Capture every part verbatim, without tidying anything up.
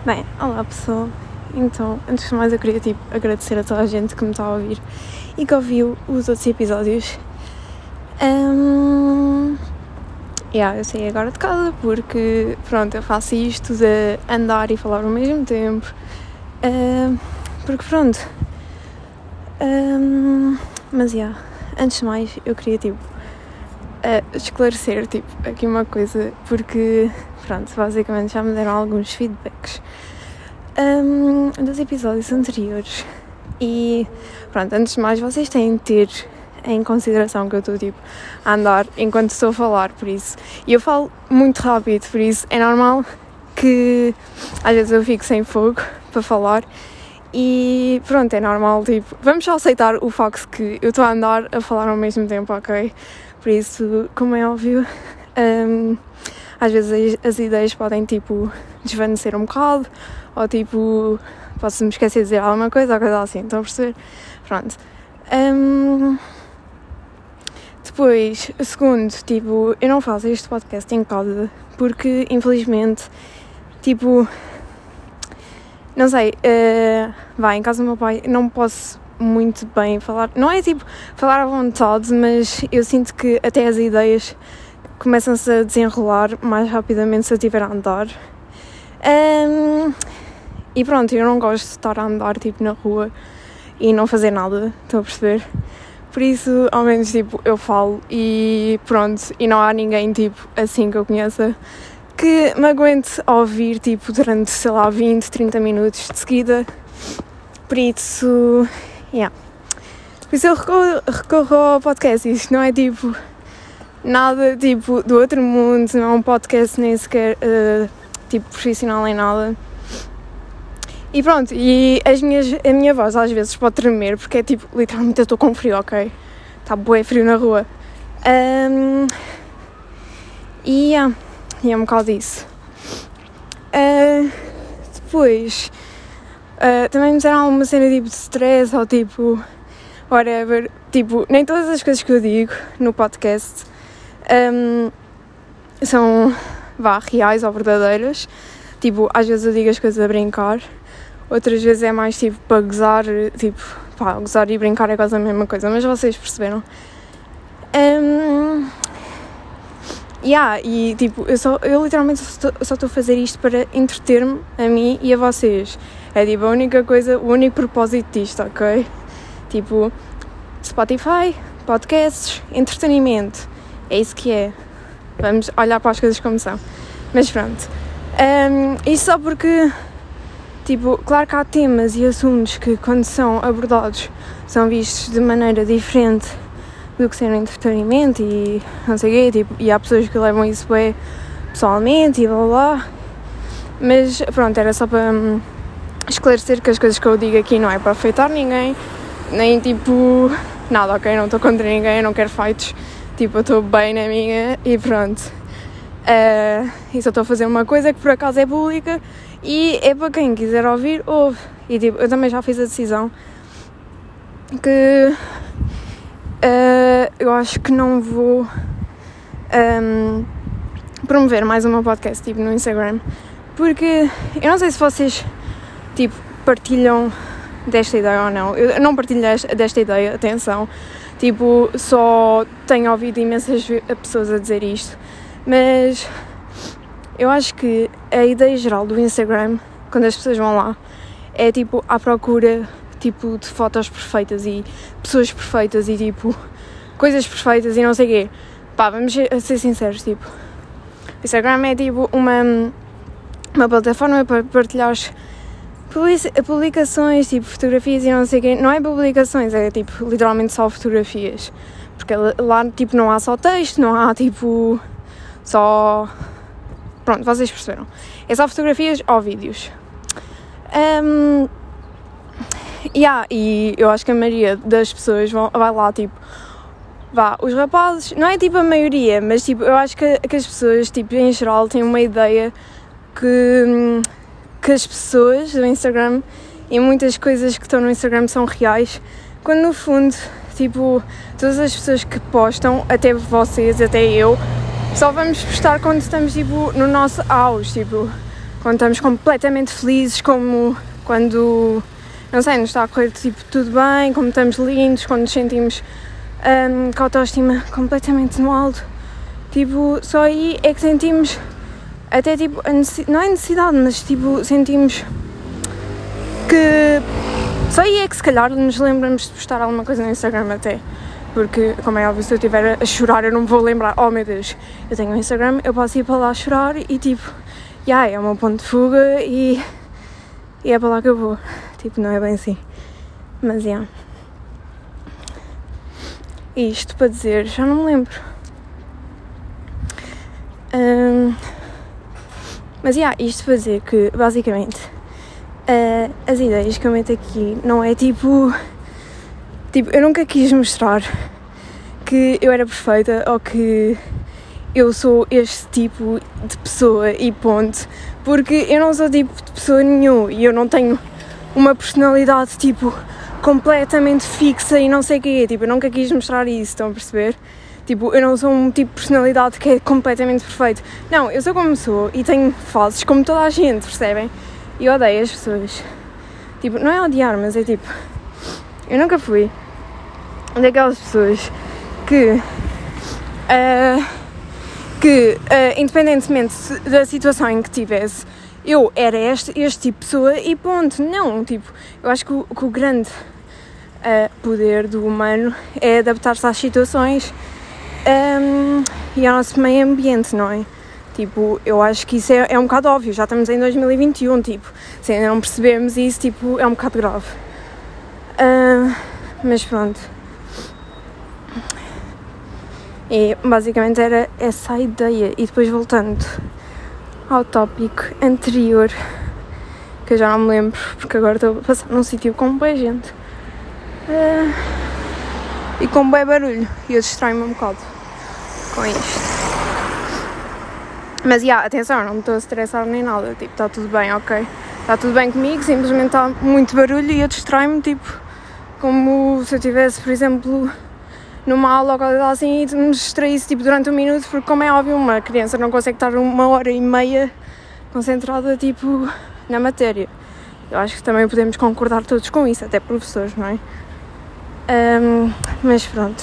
Bem, olá pessoal. Então, antes de mais eu queria tipo, agradecer a toda a gente que me está a ouvir e que ouviu os outros episódios. Um... Yeah, eu saí agora de casa porque, pronto, eu faço isto de andar e falar ao mesmo tempo. Uh, porque, pronto. Um... Mas, yeah, antes de mais eu queria, tipo, uh, esclarecer, tipo, aqui uma coisa, porque, pronto, basicamente já me deram alguns feedbacks um, dos episódios anteriores e, pronto, antes de mais vocês têm de ter em consideração que eu estou, tipo, a andar enquanto estou a falar, por isso, e eu falo muito rápido, por isso é normal que às vezes eu fico sem fogo para falar e, pronto, é normal, tipo, vamos só aceitar o facto que eu estou a andar a falar ao mesmo tempo, ok? Por isso, como é óbvio, um, às vezes as, as ideias podem, tipo, desvanecer um bocado, ou, tipo, posso-me esquecer de dizer alguma coisa, ou coisa assim, estão a perceber? Pronto. Um, depois, segundo, tipo, eu não faço este podcast em casa, porque, infelizmente, tipo, não sei, uh, vai, em casa do meu pai, não posso muito bem falar, não é tipo falar à vontade, mas eu sinto que até as ideias começam-se a desenrolar mais rapidamente se eu estiver a andar. Um, e pronto, eu não gosto de estar a andar tipo na rua e não fazer nada, estão a perceber? Por isso, ao menos tipo, eu falo e pronto, e não há ninguém tipo assim que eu conheça que me aguente a ouvir tipo durante, sei lá, vinte, trinta minutos de seguida. Por isso, yeah. Por isso eu recorro, recorro ao podcast. Isto não é tipo nada tipo do outro mundo, não é um podcast nem sequer uh, tipo profissional em nada. E pronto, e as minhas, a minha voz às vezes pode tremer porque é tipo, literalmente eu estou com frio, ok? Está bué frio na rua. Um, e yeah, e é um bocado isso. Uh, depois, uh, também me disseram alguma cena tipo de stress ou tipo, whatever. Tipo, nem todas as coisas que eu digo no podcast um, são, vá, reais ou verdadeiras. Tipo, às vezes eu digo as coisas a brincar, outras vezes é mais tipo para gozar, tipo, pá, gozar e brincar é quase a mesma coisa, mas vocês perceberam. Um, yeah, e tipo, eu, só, eu literalmente só estou a fazer isto para entreter-me a mim e a vocês. É tipo a única coisa, o único propósito disto, ok? Tipo, Spotify, podcasts, entretenimento, é isso que é. Vamos olhar para as coisas como são. Mas pronto, um, isso só porque, tipo, claro que há temas e assuntos que quando são abordados são vistos de maneira diferente do que ser um entretenimento e não sei o quê, tipo, e há pessoas que levam isso bem pessoalmente e blá blá, mas pronto, era só para hum, esclarecer que as coisas que eu digo aqui não é para afetar ninguém, nem tipo, nada, ok, não estou contra ninguém, não quero fights, tipo, eu estou bem na minha e pronto, uh, e só estou a fazer uma coisa que por acaso é pública e é para quem quiser ouvir, ouve, e tipo, eu também já fiz a decisão que Uh, eu acho que não vou um, promover mais o meu podcast tipo, no Instagram, porque eu não sei se vocês tipo, partilham desta ideia ou não. Eu não partilho desta ideia, atenção, tipo, só tenho ouvido imensas pessoas a dizer isto, mas eu acho que a ideia geral do Instagram, quando as pessoas vão lá, é tipo à procura tipo de fotos perfeitas e pessoas perfeitas e tipo coisas perfeitas e não sei o quê. Pá, vamos ser sinceros, tipo, o Instagram é tipo uma, uma plataforma para partilhar publicações, tipo fotografias e não sei o quê. Não é publicações, é tipo literalmente só fotografias, porque lá tipo não há só texto, não há tipo só, pronto, vocês perceberam, é só fotografias ou vídeos. um, Yeah, e eu acho que a maioria das pessoas vão, vai lá, tipo, vá, os rapazes, não é tipo a maioria, mas tipo, eu acho que, que as pessoas, tipo, em geral, têm uma ideia que, que as pessoas do Instagram e muitas coisas que estão no Instagram são reais, quando no fundo, tipo, todas as pessoas que postam, até vocês, até eu, só vamos postar quando estamos, tipo, no nosso auge, tipo, quando estamos completamente felizes, como quando, não sei, nos está a correr tipo, tudo bem, como estamos lindos, quando nos sentimos um, com a autoestima completamente no alto. Tipo, só aí é que sentimos até tipo, a necessidade, não é necessidade, mas tipo, sentimos que só aí é que se calhar nos lembramos de postar alguma coisa no Instagram até. Porque, como é óbvio, se eu estiver a chorar eu não me vou lembrar, oh meu Deus, eu tenho um Instagram, eu posso ir para lá chorar e tipo, yeah, é o meu ponto de fuga e, e é para lá que eu vou. Tipo, não é bem assim. Mas, yeah. Isto para dizer, já não me lembro. Um, mas, yeah, isto para dizer que, basicamente, uh, as ideias que eu meto aqui não é tipo... Tipo, eu nunca quis mostrar que eu era perfeita ou que eu sou este tipo de pessoa e ponto. Porque eu não sou tipo de pessoa nenhuma e eu não tenho uma personalidade tipo completamente fixa e não sei o quê. Tipo, eu nunca quis mostrar isso, estão a perceber? Tipo, eu não sou um tipo de personalidade que é completamente perfeito. Não, eu sou como sou e tenho fases como toda a gente, percebem? E eu odeio as pessoas. Tipo, não é odiar, mas é tipo... Eu nunca fui daquelas pessoas que, uh, que uh, independentemente da situação em que tivesse, eu era este, este tipo de pessoa e ponto. Não, tipo, eu acho que o, que o grande uh, poder do humano é adaptar-se às situações um, e ao nosso meio ambiente, não é? Tipo, eu acho que isso é, é um bocado óbvio, já estamos em dois mil e vinte e um, tipo, se ainda não percebemos isso, tipo, é um bocado grave. Uh, mas pronto. E basicamente era essa a ideia. E depois voltando ao tópico anterior, que eu já não me lembro, porque agora estou a passar num sítio com boa gente uh, e com bom barulho, e eu distraio-me um bocado com isto. Mas, yeah, atenção, não me estou a estressar nem nada, tipo, está tudo bem, ok? Está tudo bem comigo, simplesmente está muito barulho e eu distraio-me, tipo, como se eu estivesse, por exemplo, numa aula ou coisa assim e me distraísse tipo, durante um minuto, porque como é óbvio, uma criança não consegue estar uma hora e meia concentrada tipo, na matéria. Eu acho que também podemos concordar todos com isso, até professores, não é? Um, mas pronto.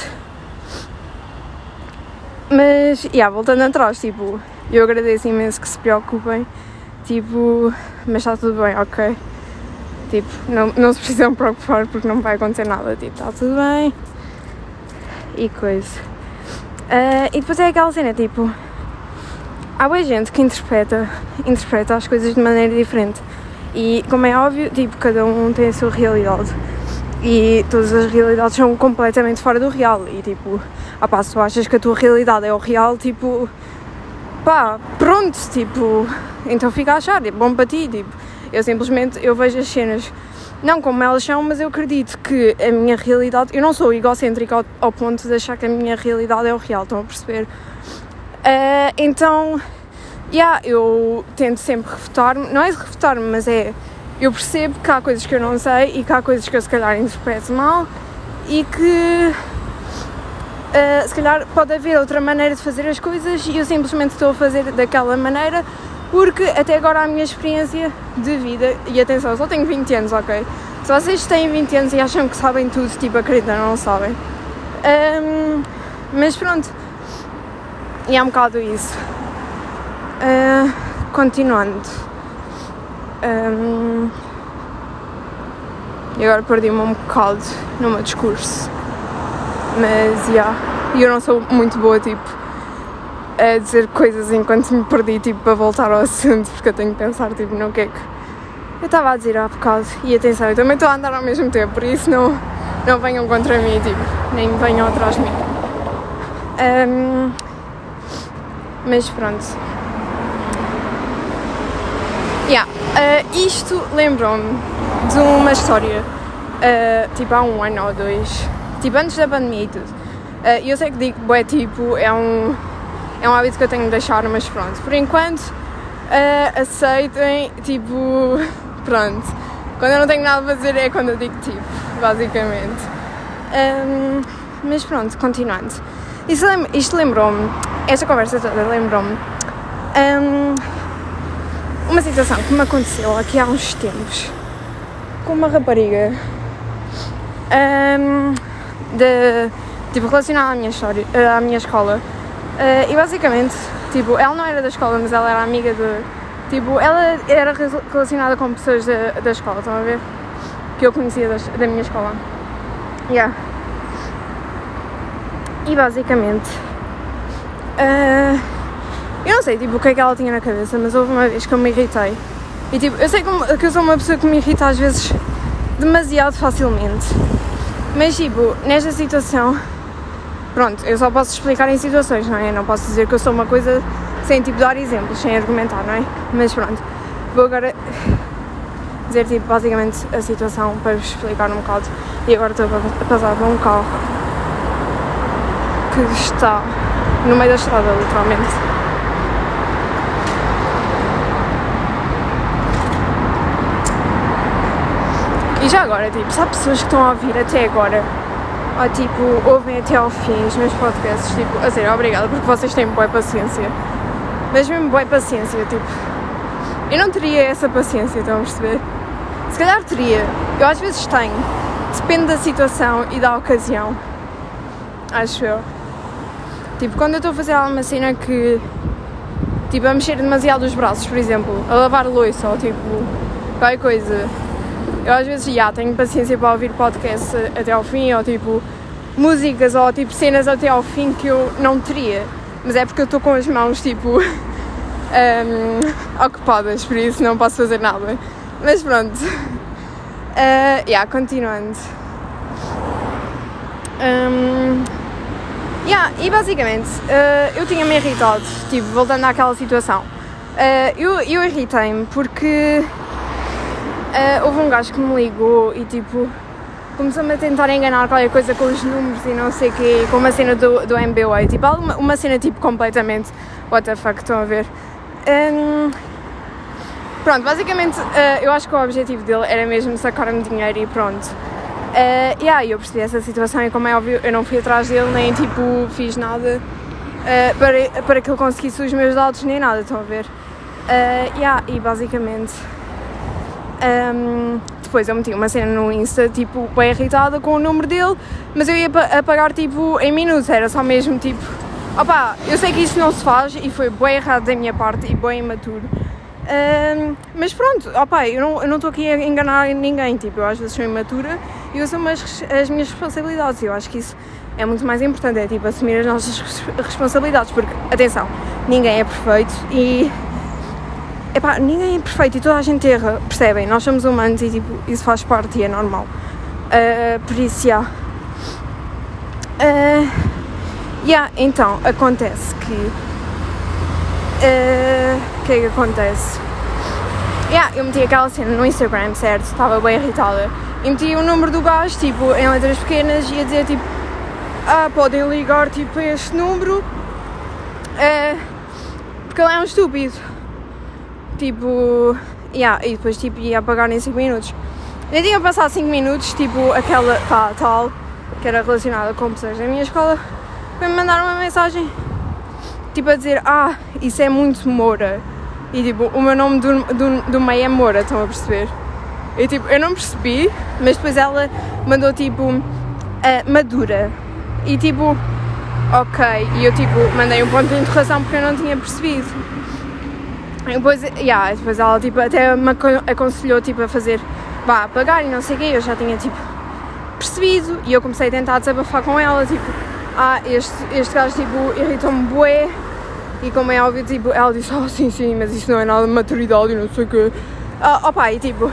Mas, yeah, voltando atrás, tipo, eu agradeço imenso que se preocupem, tipo, mas está tudo bem, ok? Tipo, não, não se precisam preocupar porque não vai acontecer nada, tipo, está tudo bem e coisa. Uh, e depois é aquela cena, tipo, há boa gente que interpreta, interpreta as coisas de maneira diferente e, como é óbvio, tipo, cada um tem a sua realidade e todas as realidades são completamente fora do real e, tipo, ah pá, se tu achas que a tua realidade é o real, tipo, pá, pronto, tipo, então fica a achar, é bom para ti, tipo. Eu simplesmente, eu vejo as cenas, não como elas são, mas eu acredito que a minha realidade, eu não sou egocêntrica ao, ao ponto de achar que a minha realidade é o real, estão a perceber? Uh, então, yeah, eu tento sempre refutar-me, não é refutar-me, mas é, eu percebo que há coisas que eu não sei e que há coisas que eu se calhar interpreto mal e que uh, se calhar pode haver outra maneira de fazer as coisas e eu simplesmente estou a fazer daquela maneira. Porque até agora a minha experiência de vida, e atenção, eu só tenho vinte anos, ok? Se vocês têm vinte anos e acham que sabem tudo, tipo, acreditam, não sabem. Um, mas pronto, e é um bocado isso. Uh, continuando. Um, e agora perdi-me um bocado no meu discurso. Mas, já, yeah, eu não sou muito boa, tipo, a dizer coisas enquanto me perdi, tipo, para voltar ao assunto, porque eu tenho que pensar, tipo, no que é que eu estava a dizer há bocado. E atenção, eu também estou a andar ao mesmo tempo, por isso não, não venham contra mim, tipo, nem venham atrás de mim. Um, mas pronto. Yeah, uh, isto lembrou-me de uma história, uh, tipo, há um ano ou dois, tipo, antes da pandemia e tudo. Uh, eu sei que digo, é tipo, é um... É um hábito que eu tenho de deixar, mas pronto. Por enquanto, uh, aceitem, tipo, pronto. Quando eu não tenho nada a fazer é quando eu digo tipo, basicamente. Um, mas pronto, continuando. Isto, lem- isto lembrou-me, esta conversa toda lembrou-me um, uma situação que me aconteceu aqui há uns tempos com uma rapariga um, de, tipo, relacionada à minha, história, à minha escola. Uh, e basicamente, tipo, ela não era da escola, mas ela era amiga de... Tipo, ela era relacionada com pessoas da, da escola, estão a ver? Que eu conhecia das, da minha escola. Yeah. E basicamente... Uh, eu não sei, tipo, o que é que ela tinha na cabeça, mas houve uma vez que eu me irritei. E tipo, eu sei que, que eu sou uma pessoa que me irrita às vezes demasiado facilmente. Mas tipo, nesta situação... Pronto, eu só posso explicar em situações, não é? Eu não posso dizer que eu sou uma coisa sem, tipo, dar exemplos, sem argumentar, não é? Mas pronto, vou agora dizer, tipo, basicamente a situação para vos explicar um bocado. E agora estou a passar por um carro que está no meio da estrada, literalmente. E já agora, tipo, se há pessoas que estão a ouvir até agora, ou tipo, ouvem até ao fim os meus podcasts, tipo, a sério, obrigada, porque vocês têm boa paciência. Mas mesmo boa paciência, tipo, eu não teria essa paciência, estão a perceber? Se calhar teria, eu às vezes tenho, depende da situação e da ocasião, acho eu. Tipo, quando eu estou a fazer alguma cena que, tipo, a mexer demasiado os braços, por exemplo, a lavar louça, ou tipo, qualquer coisa... Eu às vezes já tenho paciência para ouvir podcasts até ao fim, ou tipo músicas, ou tipo cenas até ao fim que eu não teria. Mas é porque eu estou com as mãos tipo um, ocupadas, por isso não posso fazer nada. Mas pronto. Uh, yeah, continuando. Um, yeah, e basicamente uh, eu tinha-me irritado, tipo, voltando àquela situação. Uh, eu eu irritei-me porque... Uh, houve um gajo que me ligou e tipo começou-me a tentar enganar qualquer coisa com os números e não sei o quê, com uma cena do, do M B A, tipo uma, uma cena tipo completamente what the fuck, estão a ver? Um, pronto, basicamente uh, eu acho que o objetivo dele era mesmo sacar-me dinheiro e pronto. Uh, e aí eu percebi essa situação e, como é óbvio, eu não fui atrás dele, nem tipo fiz nada uh, para, para que ele conseguisse os meus dados, nem nada, estão a ver? Uh, yeah, e basicamente... Um, depois eu meti uma cena no Insta, tipo, bem irritada com o número dele, mas eu ia apagar, tipo, em minutos, era só mesmo, tipo, opá, eu sei que isso não se faz e foi bem errado da minha parte e bem imaturo, um, mas pronto, opá, eu não eu não estou aqui a enganar ninguém, tipo, eu às vezes sou imatura e eu assumo as, as minhas responsabilidades e eu acho que isso é muito mais importante, é tipo, assumir as nossas responsabilidades, porque, atenção, ninguém é perfeito e... Epá, ninguém é perfeito e toda a gente erra, percebem? Nós somos humanos e tipo, isso faz parte e é normal. Uh, por isso, já. Yeah. Uh, yeah, então, acontece que... O uh, que é que acontece? Yeah, eu meti aquela cena no Instagram, certo? Estava bem irritada. E meti o número do gajo, tipo, em letras pequenas e ia dizer, tipo... Ah, podem ligar, tipo, a este número. Uh, porque ele é um estúpido. Tipo, yeah, e depois tipo, ia apagar em cinco minutos. Eu tinha passado cinco minutos, tipo, aquela pá, tal, que era relacionada com pessoas da minha escola, foi-me mandar uma mensagem, tipo, a dizer, ah, isso é muito Moura. E tipo, o meu nome do, do, do meio é Moura, estão a perceber? E tipo, eu não percebi, mas depois ela mandou tipo, uh, Madura. E tipo, ok, e eu tipo, mandei um ponto de interrogação porque eu não tinha percebido. E depois, yeah, depois ela tipo, até me aconselhou tipo, a fazer, vá, apagar e não sei o quê, eu já tinha tipo percebido e eu comecei a tentar desabafar com ela, tipo, ah, este, este gajo tipo, irritou-me bué e, como é óbvio, tipo, ela disse, ah, sim, sim, mas isso não é nada de maturidade e não sei o quê. Ah, opa, e tipo,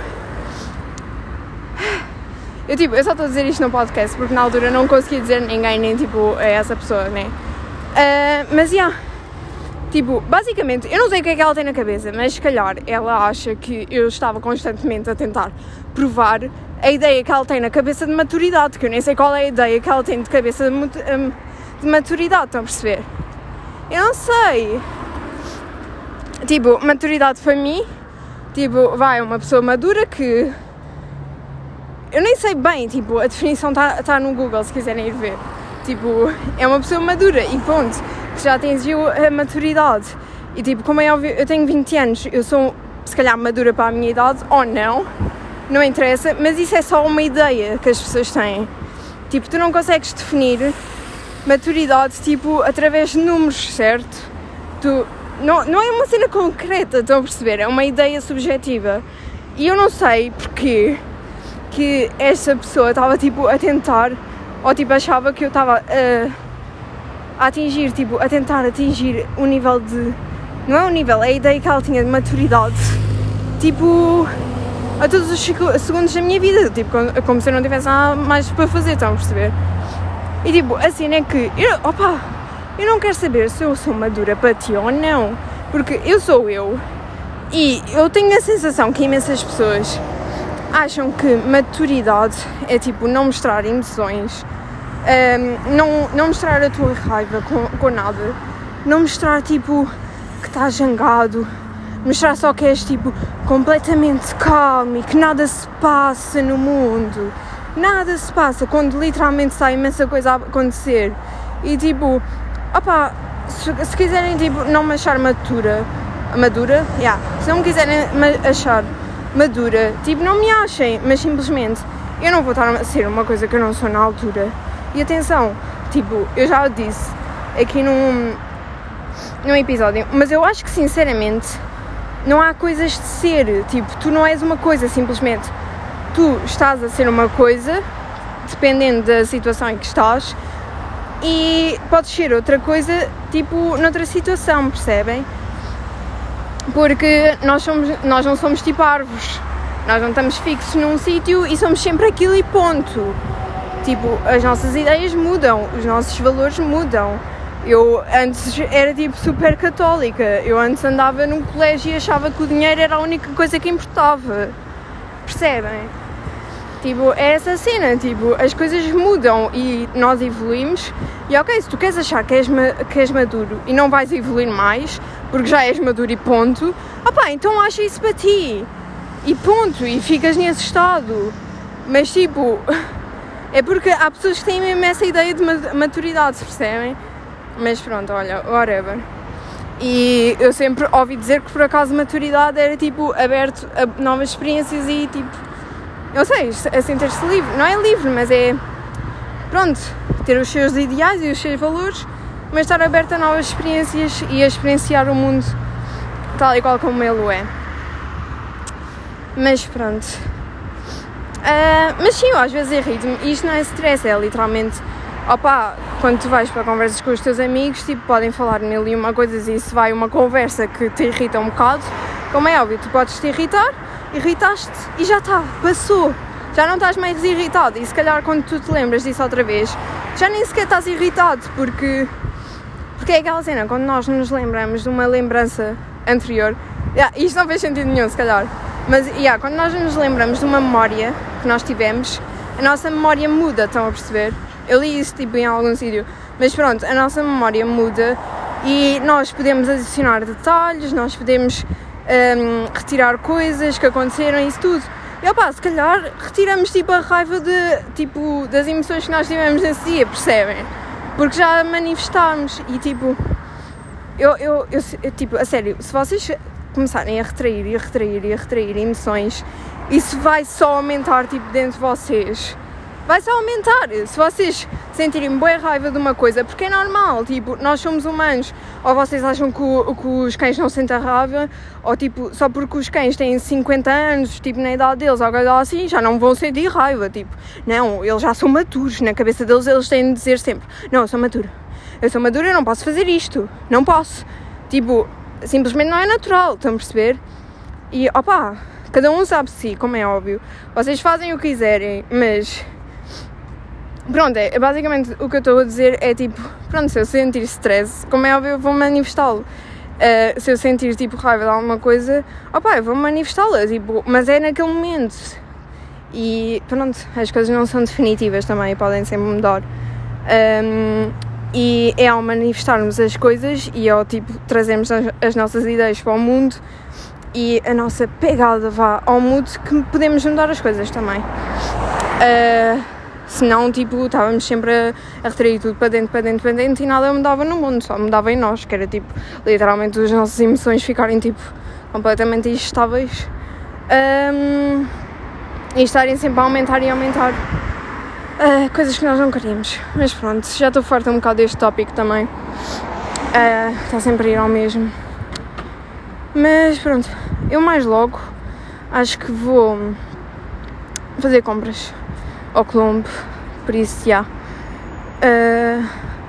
eu tipo, eu só estou a dizer isto no podcast porque na altura não conseguia dizer a ninguém, nem tipo a essa pessoa, né? Uh, mas, já, yeah, tipo, basicamente, eu não sei o que é que ela tem na cabeça, mas se calhar ela acha que eu estava constantemente a tentar provar a ideia que ela tem na cabeça de maturidade, que eu nem sei qual é a ideia que ela tem de cabeça de, um, de maturidade, estão a perceber? Eu não sei. Tipo, maturidade para mim, tipo, vai, uma pessoa madura que... Eu nem sei bem, tipo, a definição está tá no Google, se quiserem ir ver. Tipo, é uma pessoa madura e ponto, que já atingiu a maturidade. E tipo, como é óbvio, eu tenho vinte anos, eu sou se calhar madura para a minha idade, ou não, não interessa, mas isso é só uma ideia que as pessoas têm. Tipo, tu não consegues definir maturidade, tipo, através de números, certo? Tu, não, não é uma cena concreta, estão a perceber? É uma ideia subjetiva. E eu não sei porquê que esta pessoa estava, tipo, a tentar, ou, tipo, achava que eu estava a, a atingir, tipo, a tentar atingir o nível de... Não é o nível, é a ideia que ela tinha de maturidade, tipo, a todos os segundos da minha vida, tipo, como se eu não tivesse nada mais para fazer, estão a perceber? E, tipo, assim é que, eu, opa, eu não quero saber se eu sou madura para ti ou não, porque eu sou eu, e eu tenho a sensação que imensas pessoas acham que maturidade é, tipo, não mostrar emoções, um, não, não mostrar a tua raiva com, com nada, não mostrar, tipo... que estás zangado, mostrar só que és tipo completamente calmo e que nada se passa no mundo, nada se passa quando literalmente está imensa coisa a acontecer. E tipo, opá, se, se quiserem tipo não me achar madura, madura, yeah, se não me quiserem achar madura, tipo não me achem, mas simplesmente eu não vou estar a ser uma coisa que eu não sou na altura. E atenção, tipo, eu já disse aqui num num episódio, mas eu acho que sinceramente não há coisas de ser, tipo, tu não és uma coisa simplesmente, tu estás a ser uma coisa dependendo da situação em que estás e podes ser outra coisa, tipo, noutra situação, percebem? Porque nós, somos, nós não somos tipo árvores, nós não estamos fixos num sítio e somos sempre aquilo e ponto. Tipo, as nossas ideias mudam, os nossos valores mudam. Eu antes era tipo super católica, eu antes andava num colégio e achava que o dinheiro era a única coisa que importava, percebem? Tipo, é essa cena, tipo, as coisas mudam e nós evoluímos e ok, se tu queres achar que és, que és maduro e não vais evoluir mais, porque já és maduro e ponto, opá, então acha isso para ti, e ponto, e ficas nesse estado, mas tipo, é porque há pessoas que têm mesmo essa ideia de maturidade, percebem? Mas pronto, olha, whatever. E eu sempre ouvi dizer que por acaso maturidade era tipo aberto a novas experiências e tipo, eu sei, assim ter-se livre, não é livre, mas é, pronto, ter os seus ideais e os seus valores, mas estar aberto a novas experiências e a experienciar o mundo tal e qual como ele o é. Mas pronto. Uh, mas sim, eu às vezes irrito-me, e isto não é stress, é literalmente, opá, quando tu vais para conversas com os teus amigos, tipo, podem falar mil e uma coisas e se vai uma conversa que te irrita um bocado, como é óbvio, tu podes te irritar, irritaste e já está, passou, já não estás mais irritado e se calhar quando tu te lembras disso outra vez, já nem sequer estás irritado, porque, porque é aquela cena, quando nós nos lembramos de uma lembrança anterior, yeah, isto não fez sentido nenhum se calhar, mas yeah, quando nós nos lembramos de uma memória que nós tivemos, a nossa memória muda, estão a perceber? Eu li isso tipo em algum sítio, mas pronto, a nossa memória muda e nós podemos adicionar detalhes, nós podemos um, retirar coisas que aconteceram e isso tudo. E opá, se calhar retiramos tipo a raiva de, tipo, das emoções que nós tivemos nesse dia, percebem? Porque já manifestámos e tipo, eu, eu, eu, eu tipo, a sério, se vocês começarem a retrair e a retrair e a retrair emoções, isso vai só aumentar tipo dentro de vocês. Vai só aumentar, se vocês sentirem boa raiva de uma coisa, porque é normal, tipo, nós somos humanos, ou vocês acham que, o, que os cães não sentem raiva, ou tipo, só porque os cães têm cinquenta anos, tipo, na idade deles, ou coisa assim, já não vão sentir raiva, tipo, não, eles já são maturos, na cabeça deles eles têm de dizer sempre, não, eu sou maduro, eu sou maduro, eu não posso fazer isto, não posso, tipo, simplesmente não é natural, estão a perceber? E, opá, cada um sabe de si, como é óbvio, vocês fazem o que quiserem, mas... Pronto, é, basicamente o que eu estou a dizer é tipo, pronto, se eu sentir stress, como é óbvio, eu vou manifestá-lo. Uh, se eu sentir tipo raiva de alguma coisa, opá, eu vou manifestá-la, tipo, mas é naquele momento. E pronto, as coisas não são definitivas também, podem sempre mudar. Um, e é ao manifestarmos as coisas e ao tipo trazermos as, as nossas ideias para o mundo e a nossa pegada vá ao mundo que podemos mudar as coisas também. Uh, Senão, tipo, estávamos sempre a, a retrair tudo para dentro, para dentro, para dentro e nada mudava no mundo, só mudava em nós, que era, tipo, literalmente as nossas emoções ficarem, tipo, completamente instáveis, um, e estarem sempre a aumentar e aumentar uh, coisas que nós não queríamos. Mas pronto, já estou farta um bocado deste tópico também, uh, está sempre a ir ao mesmo. Mas pronto, eu mais logo acho que vou fazer compras ao Colombo, por isso já. Uh,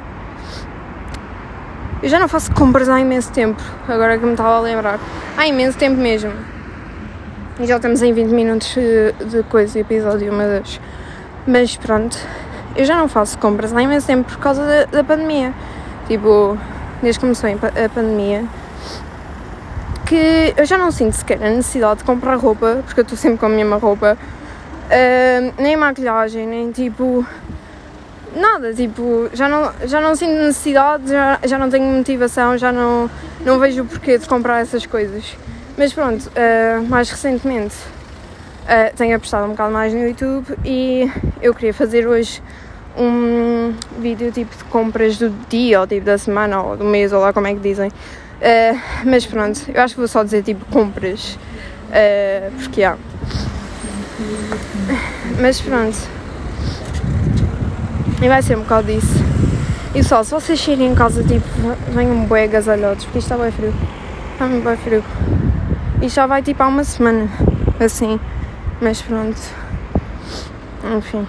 eu já não faço compras há imenso tempo, agora que me estava a lembrar. Há imenso tempo mesmo. E já estamos em vinte minutos de coisa, episódio, meu Deus. Mas pronto, eu já não faço compras há imenso tempo por causa da, da pandemia. Tipo, desde que começou a pandemia, que eu já não sinto sequer a necessidade de comprar roupa, porque eu estou sempre com a mesma roupa, uh, nem maquilhagem, nem tipo nada, tipo, já não, já não sinto necessidade, já, já não tenho motivação, já não, não vejo o porquê de comprar essas coisas. Mas pronto, uh, mais recentemente uh, tenho apostado um bocado mais no YouTube e eu queria fazer hoje um vídeo tipo de compras do dia, ou tipo da semana, ou do mês, ou lá como é que dizem. Uh, mas pronto, eu acho que vou só dizer tipo compras, uh, porque há. Mas pronto, e vai ser um bocado disso. E pessoal, se vocês saírem em casa, tipo, venham bué agasalhados, porque isto está bem frio, está muito bem frio. E já vai tipo há uma semana, assim, mas pronto, enfim.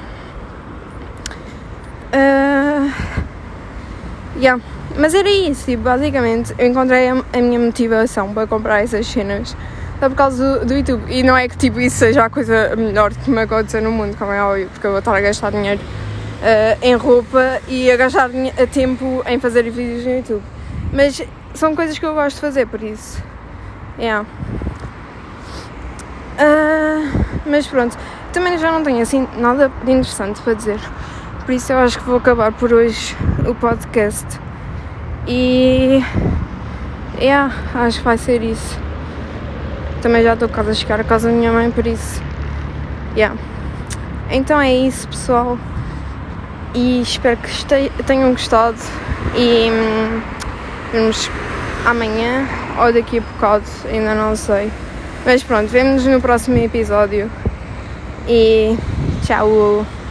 Uh, yeah. Mas era isso, tipo, basicamente eu encontrei a, a minha motivação para comprar essas cenas só por causa do, do YouTube. E não é que tipo, isso seja a coisa melhor que me aconteceu no mundo, como é óbvio, porque eu vou estar a gastar dinheiro uh, em roupa e a gastar a tempo em fazer vídeos no YouTube. Mas são coisas que eu gosto de fazer, por isso. Yeah. Uh, mas pronto, também já não tenho assim nada de interessante para dizer. Por isso eu acho que vou acabar por hoje o podcast. E yeah, acho que vai ser isso. Também já estou quase a chegar a casa da minha mãe, por isso yeah. Então é isso, pessoal. E espero que este- tenham gostado. E hum, vemos amanhã ou daqui a bocado, ainda não sei. Mas pronto, vemo-nos no próximo episódio. E tchau.